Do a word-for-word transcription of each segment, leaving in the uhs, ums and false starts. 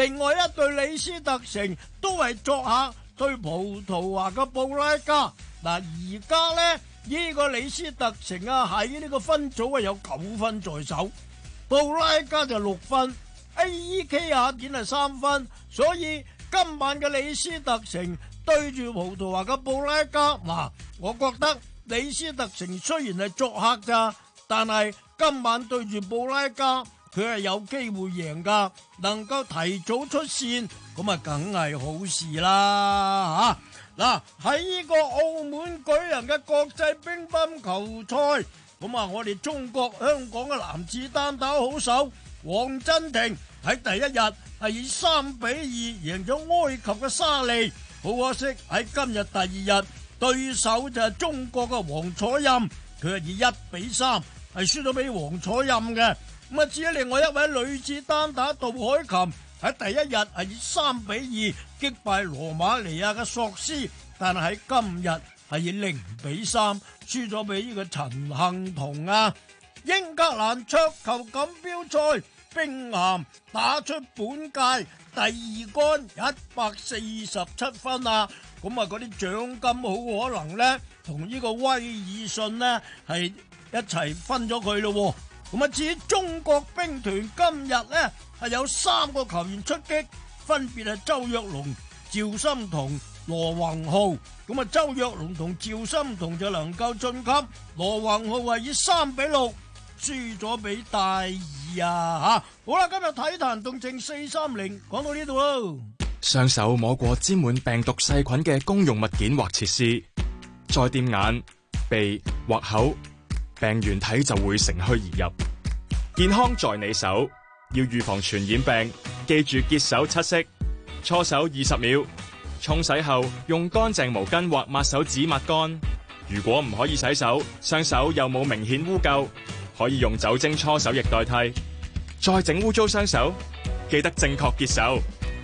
另外一隊李斯特城都係作客對葡萄牙嘅布拉加。嗱，而家呢，呢個李斯特城啊喺呢個分組啊有九分在手，布拉加就六分 ，A E K 雅典係三分，所以今晚嘅李斯特城對住葡萄牙嘅布拉加，嗱，我覺得李斯特城雖然係作客咋，但係今晚對住布拉加，佢係有機會贏噶，能夠提早出線，咁啊梗係好事啦吓！嗱，喺呢個澳門舉行嘅國際乒乓球賽，咁啊我哋中國香港嘅男子單打好手黃鎮廷喺第一日係以三比二贏咗埃及嘅沙利，好可惜喺今日第二日對手就係中國嘅王楚欽，佢係以一比三係輸咗俾王楚欽嘅。咁啊，至於另外一位女子單打杜海琴喺第一日係以三比二擊敗羅馬尼亞嘅索斯，但係喺今日係以零比三輸咗俾呢個陳幸同啊。英格蘭桌球錦標賽，冰咸打出本屆第二杆一百四十七分啊！咁啊，嗰啲獎金好可能呢，同呢個威爾遜呢係一齊分咗佢咯。咁啊，至於中國兵團今日呢係有三個球員出擊，分別係周若龍、趙心彤、羅宏浩。咁啊，周若龍同趙心彤就能夠晉級，羅宏浩係以三比六輸咗俾戴爾啊！吓，好啦，今日體壇動靜四三零講到呢度咯。 雙手摸過沾滿病毒細菌嘅公用物件或設施，再掂眼、鼻或口，病原體就會乘虛而入。健康在你手，要預防傳染病，記住潔手七式，搓手二十秒，沖洗後用乾淨毛巾或抹手紙抹乾。如果唔可以洗手，雙手又冇明顯污垢，可以用酒精搓手液代替。再整污糟雙手，記得正確潔手。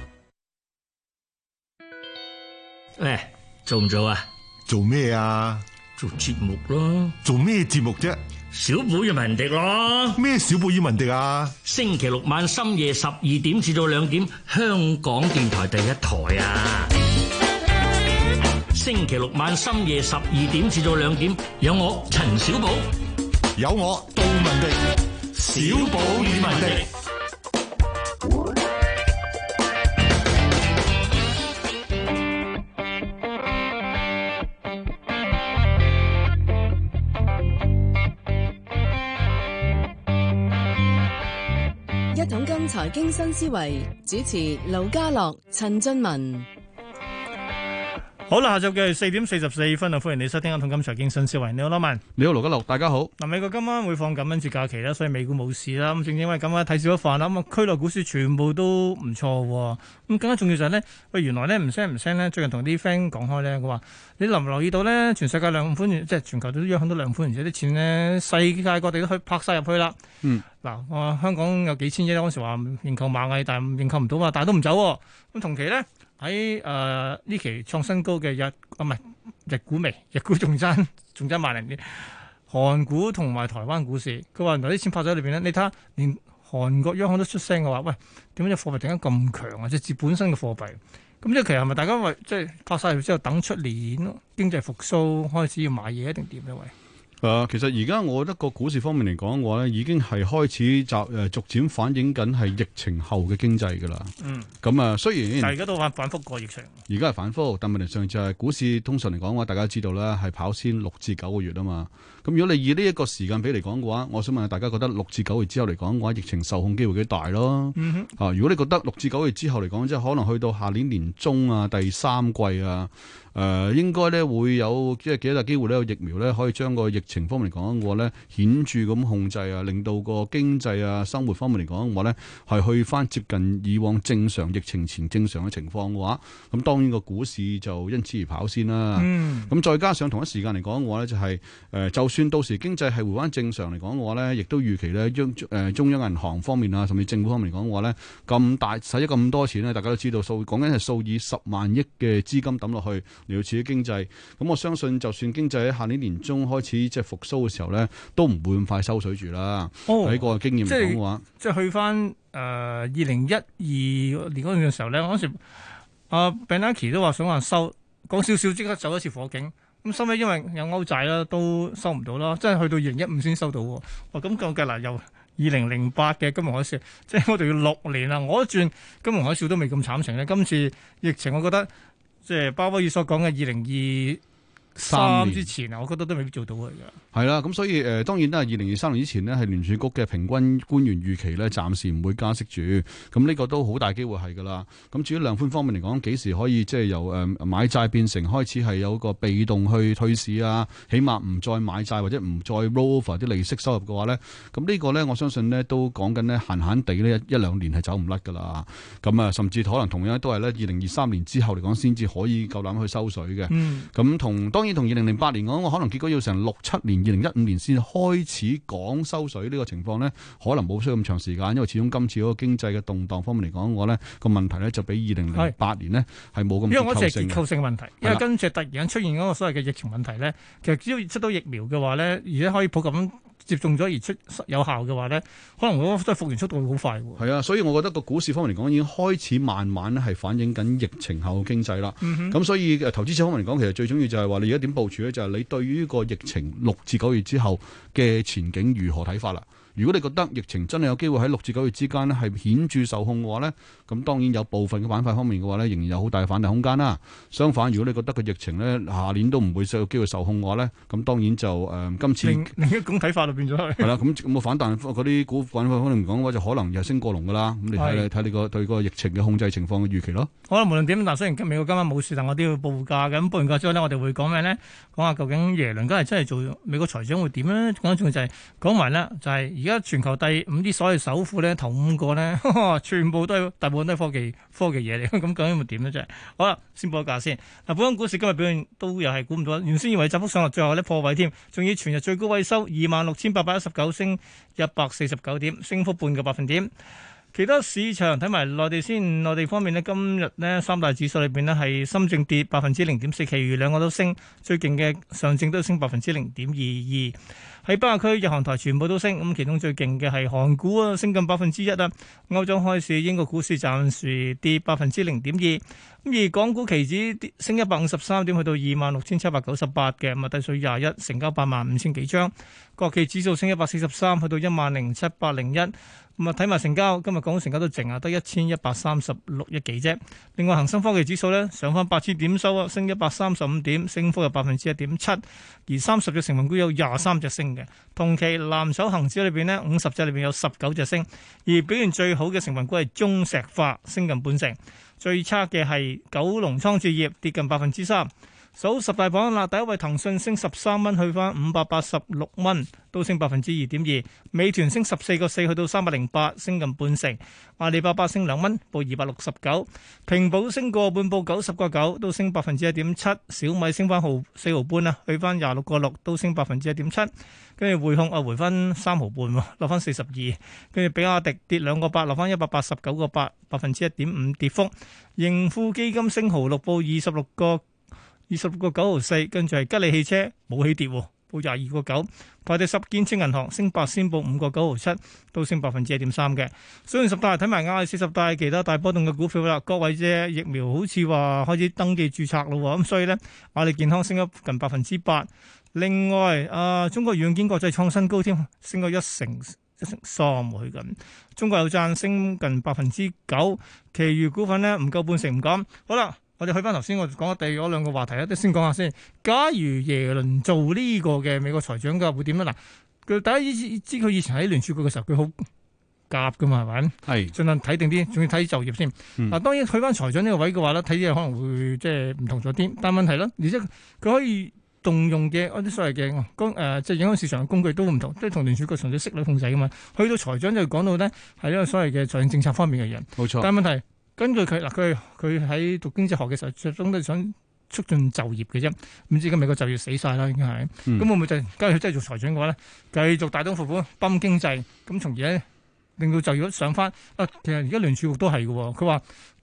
喂，做唔做啊？ 做咩啊？ 做節目咯。 做咩節目啫？ 小寶與文迪咯。 咩小寶與文迪啊？ 星期六晚深夜十二點至到兩點，香港電台第一台啊。星期六晚深夜十二點至到兩點，有我陳小寶， 有我杜文迪，小寶與文迪。 一桶金財經新思維，主持盧家樂、陳俊文。 好啦，下晝嘅四點四十四分啊，歡迎你收聽《一桶金財經新思維》。你好，羅文。 你好，盧家樂，大家好。 嗱，美國今晚會放感恩節假期啦，所以美股冇事啦。咁正正因為咁啊，睇少咗飯啦。咁啊，區內股市全部都唔錯。咁更加重要就係咧，喂，原來咧唔聲唔聲咧，最近同啲 friend 講開咧，佢話你留唔留意到咧，全世界量寬即係全球都央行都量寬，而且啲錢咧，世界各地都去拍晒入去啦。嗯。嗱，我香港有幾千億嗰陣時話認購螞蟻，但係認購唔到嘛，但係都唔走。咁同期咧。喺誒呢期創新高嘅日啊，唔係日股未，日股仲爭仲爭萬零啲。韓股同埋台灣股市，佢話原來啲錢拍咗喺裏邊咧。你睇下，連韓國央行都出聲嘅話，喂，點解隻貨幣突然間咁強啊？即係本身嘅貨幣，咁即係其實係咪大家為即係拍晒入之後等出年經濟復甦開始要買嘢，一定點咧？喂？ 誒、呃，其實而家我覺得個股市方面嚟講嘅話咧，已經係開始集誒逐漸反映緊係疫情後嘅經濟㗎啦。嗯，咁啊，雖然但係而家都反反覆過疫情， 而家係反覆，但問題上就係股市通常嚟講嘅話，大家知道啦，係跑先六至九個月啊嘛。咁如果你以呢一個時間比嚟講嘅話，我想問下大家覺得六至九月之後嚟講嘅話，疫情受控機會幾大咯？嗯哼，啊，如果你覺得六至九月之後嚟講，即係可能去到下年年中啊、第三季啊。誒、呃、應該咧會有即係幾大機會咧，有疫苗咧可以將個疫情方面嚟講嘅話咧顯著咁控制啊，令到個經濟啊、生活方面嚟講嘅話咧係去翻接近以往正常疫情前正常嘅情況嘅話，咁當然個股市就因此而跑先啦。嗯，咁再加上同一時間嚟講嘅話咧，就係、是、誒、呃、就算到時經濟係回翻正常嚟講嘅話咧，亦都預期咧央誒中央銀行方面啊，甚至政府方面嚟講嘅話咧，咁大使咗咁多錢咧，大家都知道數講緊係數以十萬億嘅資金抌落去。 嚟到刺激經濟。咁我相信就算經濟喺下年年中開始即係復甦嘅時候咧，都唔會咁快收水住啦。喺、哦、個經驗嚟講嘅話， 即係去翻誒二零一二年嗰陣嘅時候咧，嗰時阿 Bernanke 都話想話收，講少少即刻走一次火警。咁收尾因為有歐債啦，都收唔到啦，即係去到二零一五先收到喎。哇！咁計計嗱，由二零零八嘅金融海嘯，即係我哋要六年啦。我一轉金融海嘯都未咁慘情咧。今次疫情，我覺得即係鮑威爾所講嘅二零二三之前啊，我覺得都未必做到嘅。 係啦，咁所以誒、呃，當然啦，二零二三年之前呢，係聯儲局嘅平均官員預期咧，暫時唔會加息住。咁呢個都好大機會係噶啦。咁至於量寬方面嚟講，幾時可以即係由誒、呃、買債變成開始係有個被動去退市啊？起碼唔再買債或者唔再 roll over 啲利息收入嘅話咧，咁呢個咧我相信呢都講緊呢，閒閒地呢一一兩年係走唔甩噶啦。咁啊，甚至可能同樣都係咧二零二三年之後嚟講先至可以夠膽去收水嘅。咁、嗯、同當然同二零零八年講，我可能結果要成六七年。二零一五年先開始講收水呢個情況呢，可能冇需要咁長時間，因為始終今次嗰個經濟嘅動盪方面嚟講，我呢個問題呢就比二零零八年呢係冇咁結構性嘅。因為我只係結構性問題，因為跟住突然間出現嗰個所謂嘅疫情問題呢，其實只要出到疫苗嘅話呢，而且可以普及咁接種咗而出有效嘅話呢，可能嗰個復原速度會好快喎。係啊，所以我覺得個股市方面嚟講，已經開始慢慢咧係反映緊疫情後嘅經濟啦。咁、嗯、所以投資者方面嚟講，其實最重要就係話你而家點部署咧，就係、是、你對於個疫情六至九月之後嘅前景如何睇法啦。如果你覺得疫情真係有機會喺六至九月之間咧係顯著受控嘅話咧，咁當然有部分嘅板塊方面嘅話咧，仍然有好大嘅反彈空間啦。相反，如果你覺得個疫情咧下年都唔會有機會受控嘅話咧，咁當然就誒、呃、今次另另一種睇法就變咗係。 係啦，咁咁個反彈嗰啲股份方面嚟講嘅話，就可能又升過龍噶啦。咁你睇睇你個對個疫情嘅控制情況嘅預期咯。 好啦，無論點，嗱雖然美國今晚冇事，但我都要報價嘅。咁報完價之後呢，我哋會講咩咧？講下究竟耶倫今日真係做美國財長會點咧？講緊仲就係講埋咧，就係而家全球第五啲所謂首富咧，頭五個咧，全部都係大部分都係科技科技嘢嚟，咁究竟會點咧？真係好啦，先報個價先。嗱，本港股市今日表現都又係估唔到，原先以為窄幅上落，最後咧破位添，仲要全日最高位收二萬六千八百一十九，升一百四十九點，升幅半個百分點。其他市場睇埋內地先，內地方面呢，今日呢三大指數裏邊呢係深證跌百分之零點四，其餘兩個都升，最勁嘅上證都升百分之零點二二。喺北亞區日韓台全部都升，咁其中最勁嘅係韓股啊，升近百分之一啊。歐洲開市，英國股市暫時跌百分之零點二，咁而港股期指跌升一百五十三點，去到二萬六千七百九十八嘅，咁啊低水廿一，成交八萬五千幾張。國企指數升一百四十三，去到一萬零七百零一。咁啊睇埋成交，今日港股成交都淨啊，得一千一百三十六億幾啫。另外恒生科技指數咧上翻八千點收啊，升一百三十五點，升幅有百分之一點七。而三十隻成分股有廿三隻升嘅，同期藍籌恒指裏邊呢，五十隻裏邊有十九隻升，而表現最好嘅成分股係中石化，升近半成。最差嘅係九龍倉置業，跌近百分之三。數十大榜啦，第一位騰訊升十三蚊，去翻五百八十六蚊，都升百分之二點二。美團升十四個四，去到三百零八，升近半成。阿里巴巴升兩蚊，報二百六十九。平保升個半，報九十個九，都升百分之一點七。小米升翻毫四毫半啊，去翻廿六個六，都升百分之一點七。跟住匯控啊，回翻三毫半，落翻四十二。跟住比亞迪跌兩個八，落翻一百八十九個八，百分之一點五跌幅。盈富基金升毫六，報二十六個。二十六個九毫四，跟住係吉利汽車冇起跌，報廿二個九。排第十，建設銀行升八仙，報五個九毫七，都升百分之一點三嘅。雖然十大睇埋亞四十大其他大波動嘅股票啦，各位嘅疫苗好似話開始登記註冊咯，咁所以呢，亞利健康升咗近百分之八。另外，啊中國軟件國際創新高添，升咗一成一成三去緊。中國有贊升近百分之九，其餘股份呢，唔夠半成唔敢。好啦。我哋去翻頭先，我講咗第嗰兩個話題啊，都先講下先。假如耶倫做呢個嘅美國財長嘅會點咧？嗱，佢大家知佢以前喺聯儲局嘅時候，佢好夾噶嘛，係咪？係，盡量睇定啲，仲要睇就業先。嗱、嗯，當然去翻財長呢個位嘅話咧，睇嘢可能會即係唔同咗啲。但係問題咧，而且佢可以動用嘅嗰啲所謂嘅工誒，即係影響市場嘅工具都唔同，即係同聯儲局純粹息率控制噶嘛。去到財長就講到咧，係一個所謂嘅財政政策方面嘅人。冇錯。但係問題。根據佢嗱，佢佢喺讀經濟學嘅時候，最終都係想促進就業嘅啫。唔知今美國就業死晒啦，已經係。咁、嗯、會唔會就係假如佢真係做財長嘅話咧，繼續大刀闊斧泵經濟，咁從而咧令到就業率上翻？啊，其實而家聯儲局都係嘅，佢話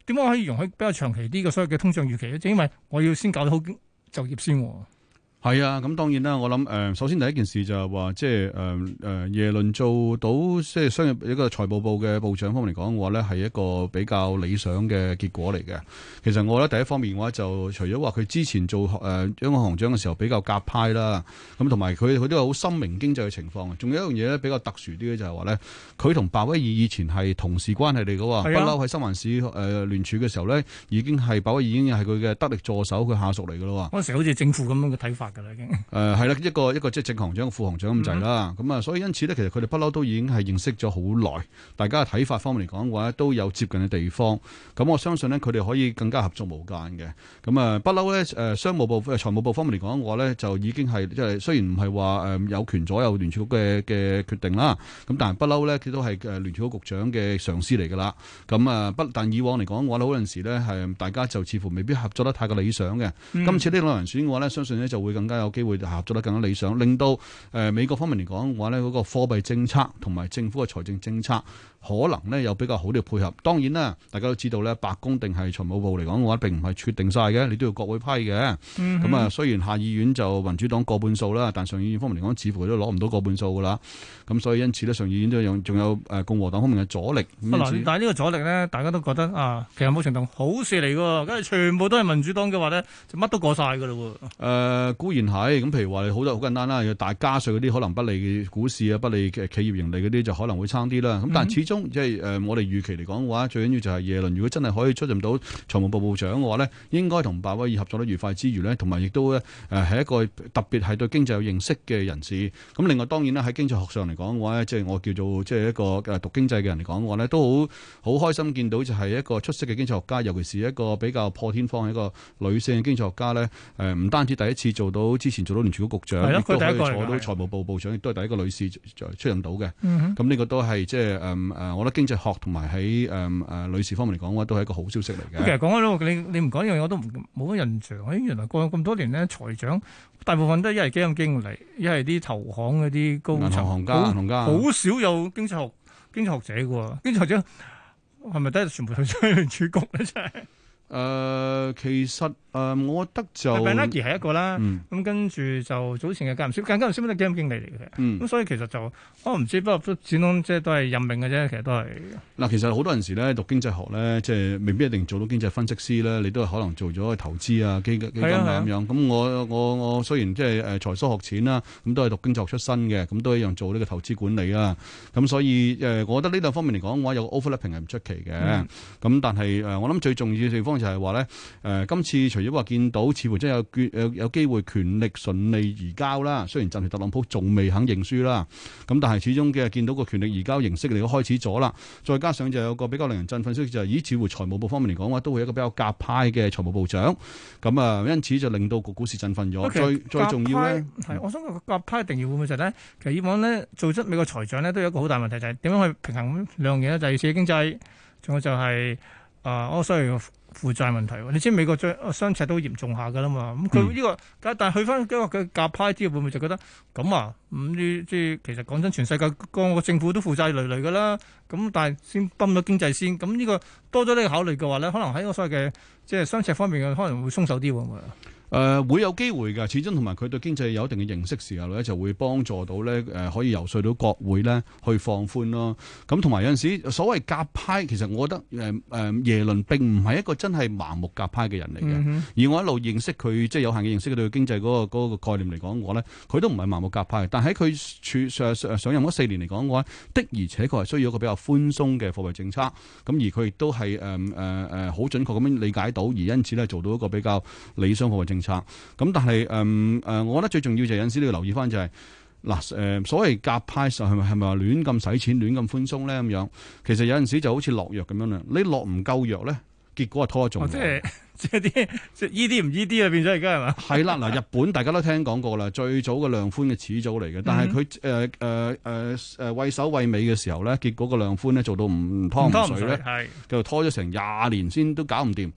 點解可以容許比較長期啲嘅所謂嘅通脹預期咧？就因為我要先搞得好就業先。 係啊，咁當然啦。我諗誒、呃，首先第一件事就係話，即係誒誒，耶倫做到即係商業一個財務部嘅部長方面嚟講嘅話咧，係一個比較理想嘅結果嚟嘅。其實我覺得第一方面嘅話，就除咗話佢之前做誒央行行長嘅時候比較鴿派啦，咁同埋佢佢都有好深明經濟嘅情況。仲有一樣嘢咧比較特殊啲嘅就係話咧，佢同鮑威爾以前係同事關係嚟嘅喎，不嬲喺新環市誒聯儲嘅時候咧，已經係鮑威爾已經係佢嘅得力助手，佢下屬嚟嘅咯喎。 嗰陣時好似政府咁樣嘅睇法㗎啦，已經。 誒係啦，一個一個即係正行長、副行長咁滯啦。咁啊、嗯，所以因此咧，其實佢哋不嬲都已經係認識咗好耐，大家嘅睇法方面嚟講嘅話，都有接近嘅地方。咁我相信咧，佢哋可以更加合作無間嘅。咁啊，不嬲咧誒，商務部、誒財務部方面嚟講嘅話咧，就已經係即係雖然唔係話誒有權左右聯儲局嘅嘅決定啦。咁但係不嬲咧，佢都係誒聯儲局局長嘅上司嚟㗎啦。咁啊，不但以往嚟講嘅話，好多陣時咧係大家就似乎未必合作得太過理想嘅。嗯、今次呢兩人選嘅話咧，相信咧就會更加有機會合作得更加理想，令到誒、呃、美國方面嚟講嘅話咧，嗰、那個貨幣政策同埋政府嘅財政政策可能咧有比較好啲嘅配合。當然啦，大家都知道咧，白宮定係財務部嚟講嘅話，並唔係決定晒嘅，你都要國會批嘅。咁啊、嗯哼，雖然下議院就民主黨過半數啦，但上議院方面嚟講，似乎都攞唔到過半數噶啦。咁所以因此咧，上議院都有仲有誒共和黨方面嘅阻力。但係呢個阻力咧，大家都覺得啊，其實冇程度好事嚟㗎，跟住全部都係民主黨嘅話咧，就乜都過晒㗎啦喎。誒、 呃、固然係咁，譬如話你好多好簡單啦，要大加稅嗰啲可能不利嘅股市啊，不利嘅企業盈利嗰啲就可能會差啲啦。咁但係始終即係誒我哋預期嚟講嘅話，最緊要就係耶倫如果真係可以出任到財務部部長嘅話咧，應該同鮑威爾合作得愉快之餘咧，同埋亦都咧誒係一個特別係對經濟有認識嘅人士。咁另外當然啦，喺經濟學上嚟講嘅話咧，即係我叫做即係一個誒讀經濟嘅人嚟講嘅話咧，都好好開心見到就係一個出色嘅經濟學家，尤其是一個比較破天荒嘅一個女性嘅經濟學家咧。誒唔單止第一次做到之前做到聯儲局局長，亦都可以坐到財務部部長，亦都係第一個女士出任到嘅。咁呢、嗯、哼個都係即係誒誒，我覺得經濟學同埋喺誒誒女士方面嚟講嘅話，都係一個好消息嚟嘅。其實講開你你唔講呢樣嘢，我都冇乜印象。誒，原來過咗咁多年咧，財長大部分都係一係基金經理，一係啲投行嗰啲高層行家、銀行家，好少有經濟學經濟學者嘅。經濟學者係咪都係全部去咗聯儲局咧？真係。誒、 呃，其實誒、呃，我覺得就 Bernanke 係一個啦，咁、 嗯、跟住就早前嘅格林斯，格林斯都係基金經理嚟嘅，咁、 嗯、 所以其實就我唔知，不過都始終即係都係任命嘅啫，其實都係。 嗱，其實好多陣時咧讀經濟學咧，即係未必一定做到經濟分析師咧，你都係可能做咗投資啊、基基金啊咁樣。咁我我我雖然即係誒才疏學淺啦，咁都係讀經濟學出身嘅，咁都一樣做呢個投資管理啦。咁所以誒、呃，我覺得呢兩方面嚟講嘅話，有個 overlapping 係唔出奇嘅。咁、嗯、但係誒、呃，我諗最重要嘅地方就係話咧，誒、呃，今次除咗話見到似乎真係有決有有機會權力順利移交啦，雖然暫時特朗普仲未肯認輸啦，咁但係始終嘅見到個權力移交形式嚟都開始咗啦，再加上就有個比較令人振奮消息就係、是，咦，似乎財務部方面嚟講嘅話，都會有一個比較鴿派嘅財務部長，咁啊，因此就令到個股市振奮咗。Okay, 最最重要咧，係我想個鴿派定義會唔會就係咧？其實以往咧做出美國財長咧，都有一個好大問題，就係、是、點樣去平衡兩樣嘢咧？就係刺激經濟，仲有就係、是、啊，我所謂負債問題。你知美國最雙赤都嚴重下噶啦嘛？咁佢呢個，但係去翻嗰個嘅鴿派之後，會唔會就覺得咁啊？咁呢即係其實講真，全世界個個政府都負債累累噶啦。咁但係先泵咗經濟先，咁呢個多咗呢個考慮嘅話咧，可能喺個所謂嘅即係雙赤方面嘅可能會鬆手啲喎。誒、呃、會有機會㗎，始終同埋佢對經濟有一定嘅認識時候咧，就會幫助到咧誒、呃，可以游說到國會咧去放寬咯。咁同埋有陣時所謂鴿派，其實我覺得誒誒、呃、耶倫並唔係一個真係盲目鴿派嘅人嚟嘅。嗯、哼而我一路認識佢，即係有限嘅認識佢對經濟嗰、那個那個概念嚟講，我咧佢都唔係盲目鴿派。但喺佢處上上上任嗰四年嚟講嘅話，的而且確係需要一個比較寬鬆嘅貨幣政策。咁而佢亦都係誒誒誒好準確咁樣理解到，而因此咧做到一個比較理想貨幣政策。咁但係誒誒，我覺得最重要就係有陣時你要留意翻就係嗱誒，所謂鴿派係咪係咪話亂咁使錢、亂咁寬鬆咧咁樣？其實有陣時就好似落藥咁樣啦，你落唔夠藥咧，結果係拖得仲。即係即係啲即係依啲唔依啲啊，變咗而家係嘛？係啦，嗱，日本大家都聽講過啦，最早嘅量寬嘅始祖嚟嘅，但係佢誒誒誒誒畏首畏尾嘅時候咧，結果個量寬咧做到唔湯唔水咧，係就拖咗成廿年先都搞唔掂。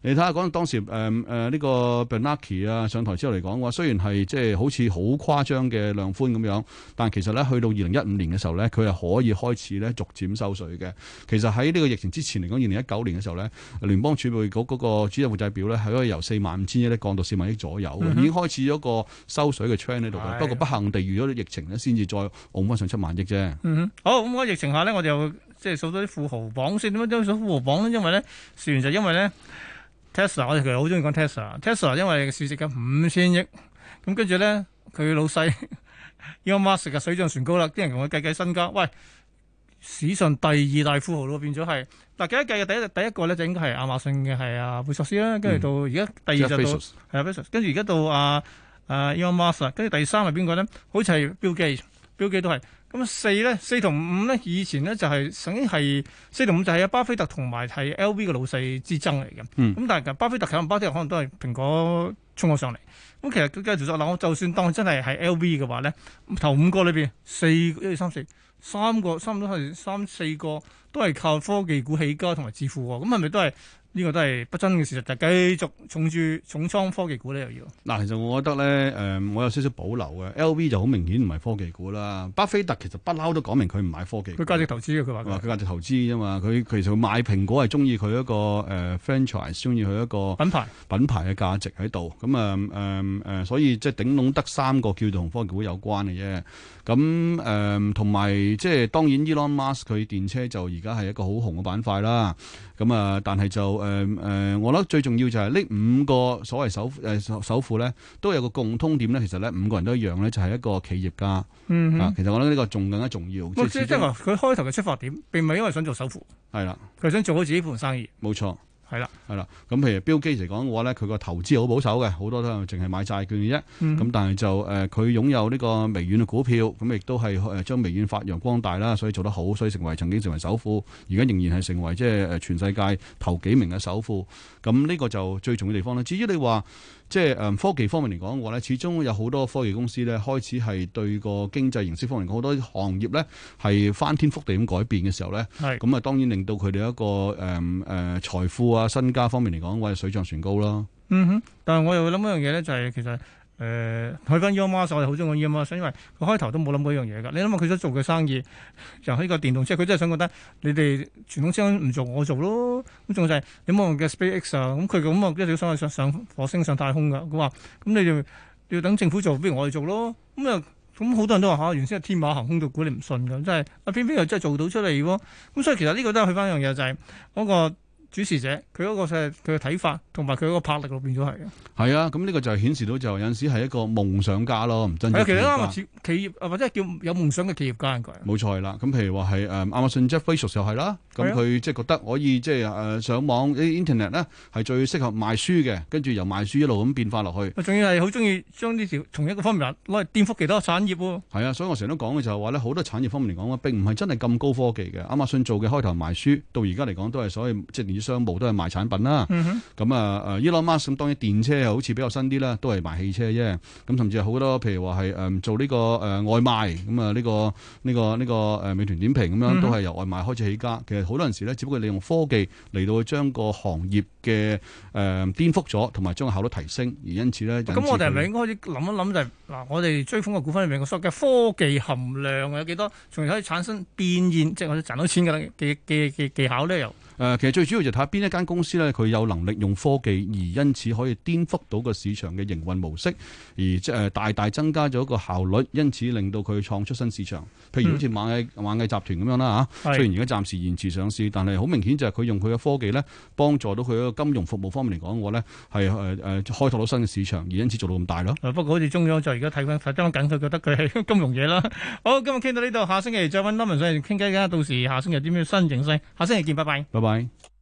你睇下講當時誒誒呢個 Bernanke 啊上台之後嚟講嘅話，雖然係即係好似好誇張嘅量寬咁樣，但其實咧去到二零一五年嘅時候咧，佢係可以開始咧逐漸收水嘅。其實喺呢個疫情之前嚟講，二零一九年嘅時候咧，聯邦儲備局嗰個主要負債表咧係可以由四萬五千億咧降到四萬億左右，嗯、已經開始咗個收水嘅 trend 喺度嘅。不過不幸地遇咗疫情咧，先至再按翻上七萬億啫。 嗯、好，咁喺疫情下咧，我哋又即係數到啲富豪榜先。點解都數富豪榜咧？因為咧，事緣就因為咧 Tesla， 我哋其實好中意講 Tesla，Tesla 因為市值嘅五千億，咁跟住咧佢老細 Elon Musk 嘅水漲船高啦，啲人同佢計計身家，喂，史上第二大富豪咯，變咗係嗱計一計嘅第一第一個咧就應該係亞馬遜嘅係阿貝索斯啦，跟住到而家第二就到係啊 Bezos，跟住而家到阿阿 Elon Musk，跟住第三係邊個咧？好似係 Bill Gates，Bill Gates 都係。咁四咧，四同五咧，以前咧就係、是、曾經係四同五就係阿巴菲特同埋係 L V 嘅老細之爭嚟嘅。咁、嗯、但係巴菲特可能巴菲特可能都係蘋果衝咗上嚟。咁其實佢繼續做嗱，我就算當真係係 L V 嘅話咧，頭五個裏邊四一二三四三個，差唔多係三四個都係靠科技股起家同埋致富喎。咁係咪都係？呢個都係不爭嘅事實，就繼續重注重倉科技股咧，又要嗱。其實我覺得咧，誒、呃，我有少少保留嘅。L V 就好明顯唔係科技股啦。巴菲特其實不嬲都講明佢唔買科技股， 佢價值投資嘅，佢話佢價值投資啫嘛。佢其實買蘋果係中意佢一個誒、呃、franchise，中意佢一個品牌品牌嘅價值喺度。咁啊誒誒，所以即係頂籠得三個叫做同科技股有關嘅啫。咁誒同埋即係當然 Elon Musk 佢電車就而家係一個好紅嘅板塊啦。咁啊，但係就誒誒、呃呃，我覺得最重要就係呢五個所謂首誒首富咧，都有個共通點咧。其實咧，五個人都一樣咧，就係、是、一個企業家。嗯哼、啊，其實我覺得呢個仲更加重要。 即係即係話，佢開頭嘅出發點並唔係因為想做首富，係啦，佢想做好自己盤生意。 冇錯。 係啦， 係啦，咁譬如Bill Gates嚟講嘅話咧，佢個投資好保守嘅，好多都係淨係買債券嘅啫。咁、嗯、但係就誒，佢、呃、擁有呢個微軟嘅股票，咁亦都係誒將微軟發揚光大啦，所以做得好，所以成為曾經成為首富，而家仍然係成為即係誒全世界頭幾名嘅首富。咁呢個就最重要嘅地方啦。至於你話，即係誒科技方面嚟講嘅話咧，始終有好多科技公司咧開始係對個經濟形式方面好多行業咧係翻天覆地咁改變嘅時候咧，咁啊是當然令到佢哋一個誒誒、呃呃、財富啊身家方面嚟講，或者水漲船高啦。嗯哼， 但係我又諗一樣嘢咧，就係其實。誒，睇翻 Elon Musk，我哋好中意 Elon Musk，因為佢開頭都冇諗過一樣嘢噶。你諗下佢想做嘅生意，由呢個電動車，佢真係想覺得你哋傳統車唔做，我做咯。咁仲就係你冇用嘅 SpaceX 啊，咁佢咁啊一直想去上上火星、上太空噶。佢話咁你就要等政府做，不如我哋做咯。咁啊，咁好多人都話吓、啊，原先係天馬行空到估你唔信噶，真係啊，偏偏又真係做到出嚟喎。咁所以其實呢個都係去翻一樣嘢，就係、是、嗰個主持者佢嗰個佢嘅睇法同埋佢嗰個魄力咯，變咗係嘅。 係啊，咁呢個就係顯示到就有陣時係一個夢想家咯，唔真正企業家。係啊，其實啱啊，企業或者係叫有夢想嘅企業家應該。冇錯係啦，咁譬如話係誒亞馬遜 Jeff Bezos 又係啦，咁佢即係覺得可以即係誒上網啲 internet 咧係最適合賣書嘅，跟住由賣書一路咁變化落去。仲要係好中意將呢條同一個方面攞嚟顛覆其他產業喎。係啊，所以我成日都講嘅就係話咧，好多產業方面嚟講咧，並唔係真係咁高科技嘅。亞馬遜做嘅開頭賣書，到而家嚟講都係所謂即係電子商務都係賣產品啦。咁、嗯、哼啊誒 Elon Musk 咁當然電車又好似比較新啲啦，都係賣汽車啫。咁甚至係好多譬如話係誒做呢、這個誒、呃、外賣咁啊呢個呢、這個呢、這個誒、呃、美團點評咁樣、嗯、哼都係由外賣開始起家。其實好多陣時咧，只不過利用科技嚟到將個行業嘅誒、呃、顛覆咗，同埋將個效率提升，而因此咧。咁我哋係咪應該開始諗一諗就係、是、嗱，我哋追風嘅股份裏面個所謂嘅科技含量有幾多，從而可以產生變現，即係我哋賺到錢嘅嘅嘅嘅技巧咧？又誒、呃，其實最主要就睇下邊一間公司咧，佢有能力用科技，而因此可以顛覆到個市場嘅營運模式，而即係大大增加咗個效率，因此令到佢創出新市場。譬如好似螞蟻螞蟻集團咁樣啦嚇，嗯、雖然而家暫時延遲上市，但係好明顯就係佢用佢嘅科技咧，幫助到佢一個金融服務方面嚟講嘅話咧，係誒誒開拓到新嘅市場，而因此做到咁大咯。不過好似中央就而家睇翻睇翻緊，佢覺得佢係金融嘢啦。好，今日傾到呢度，下星期再揾 Norman 上嚟傾偈㗎。到時下星期有啲咩新形勢，下星期見，拜拜。拜拜。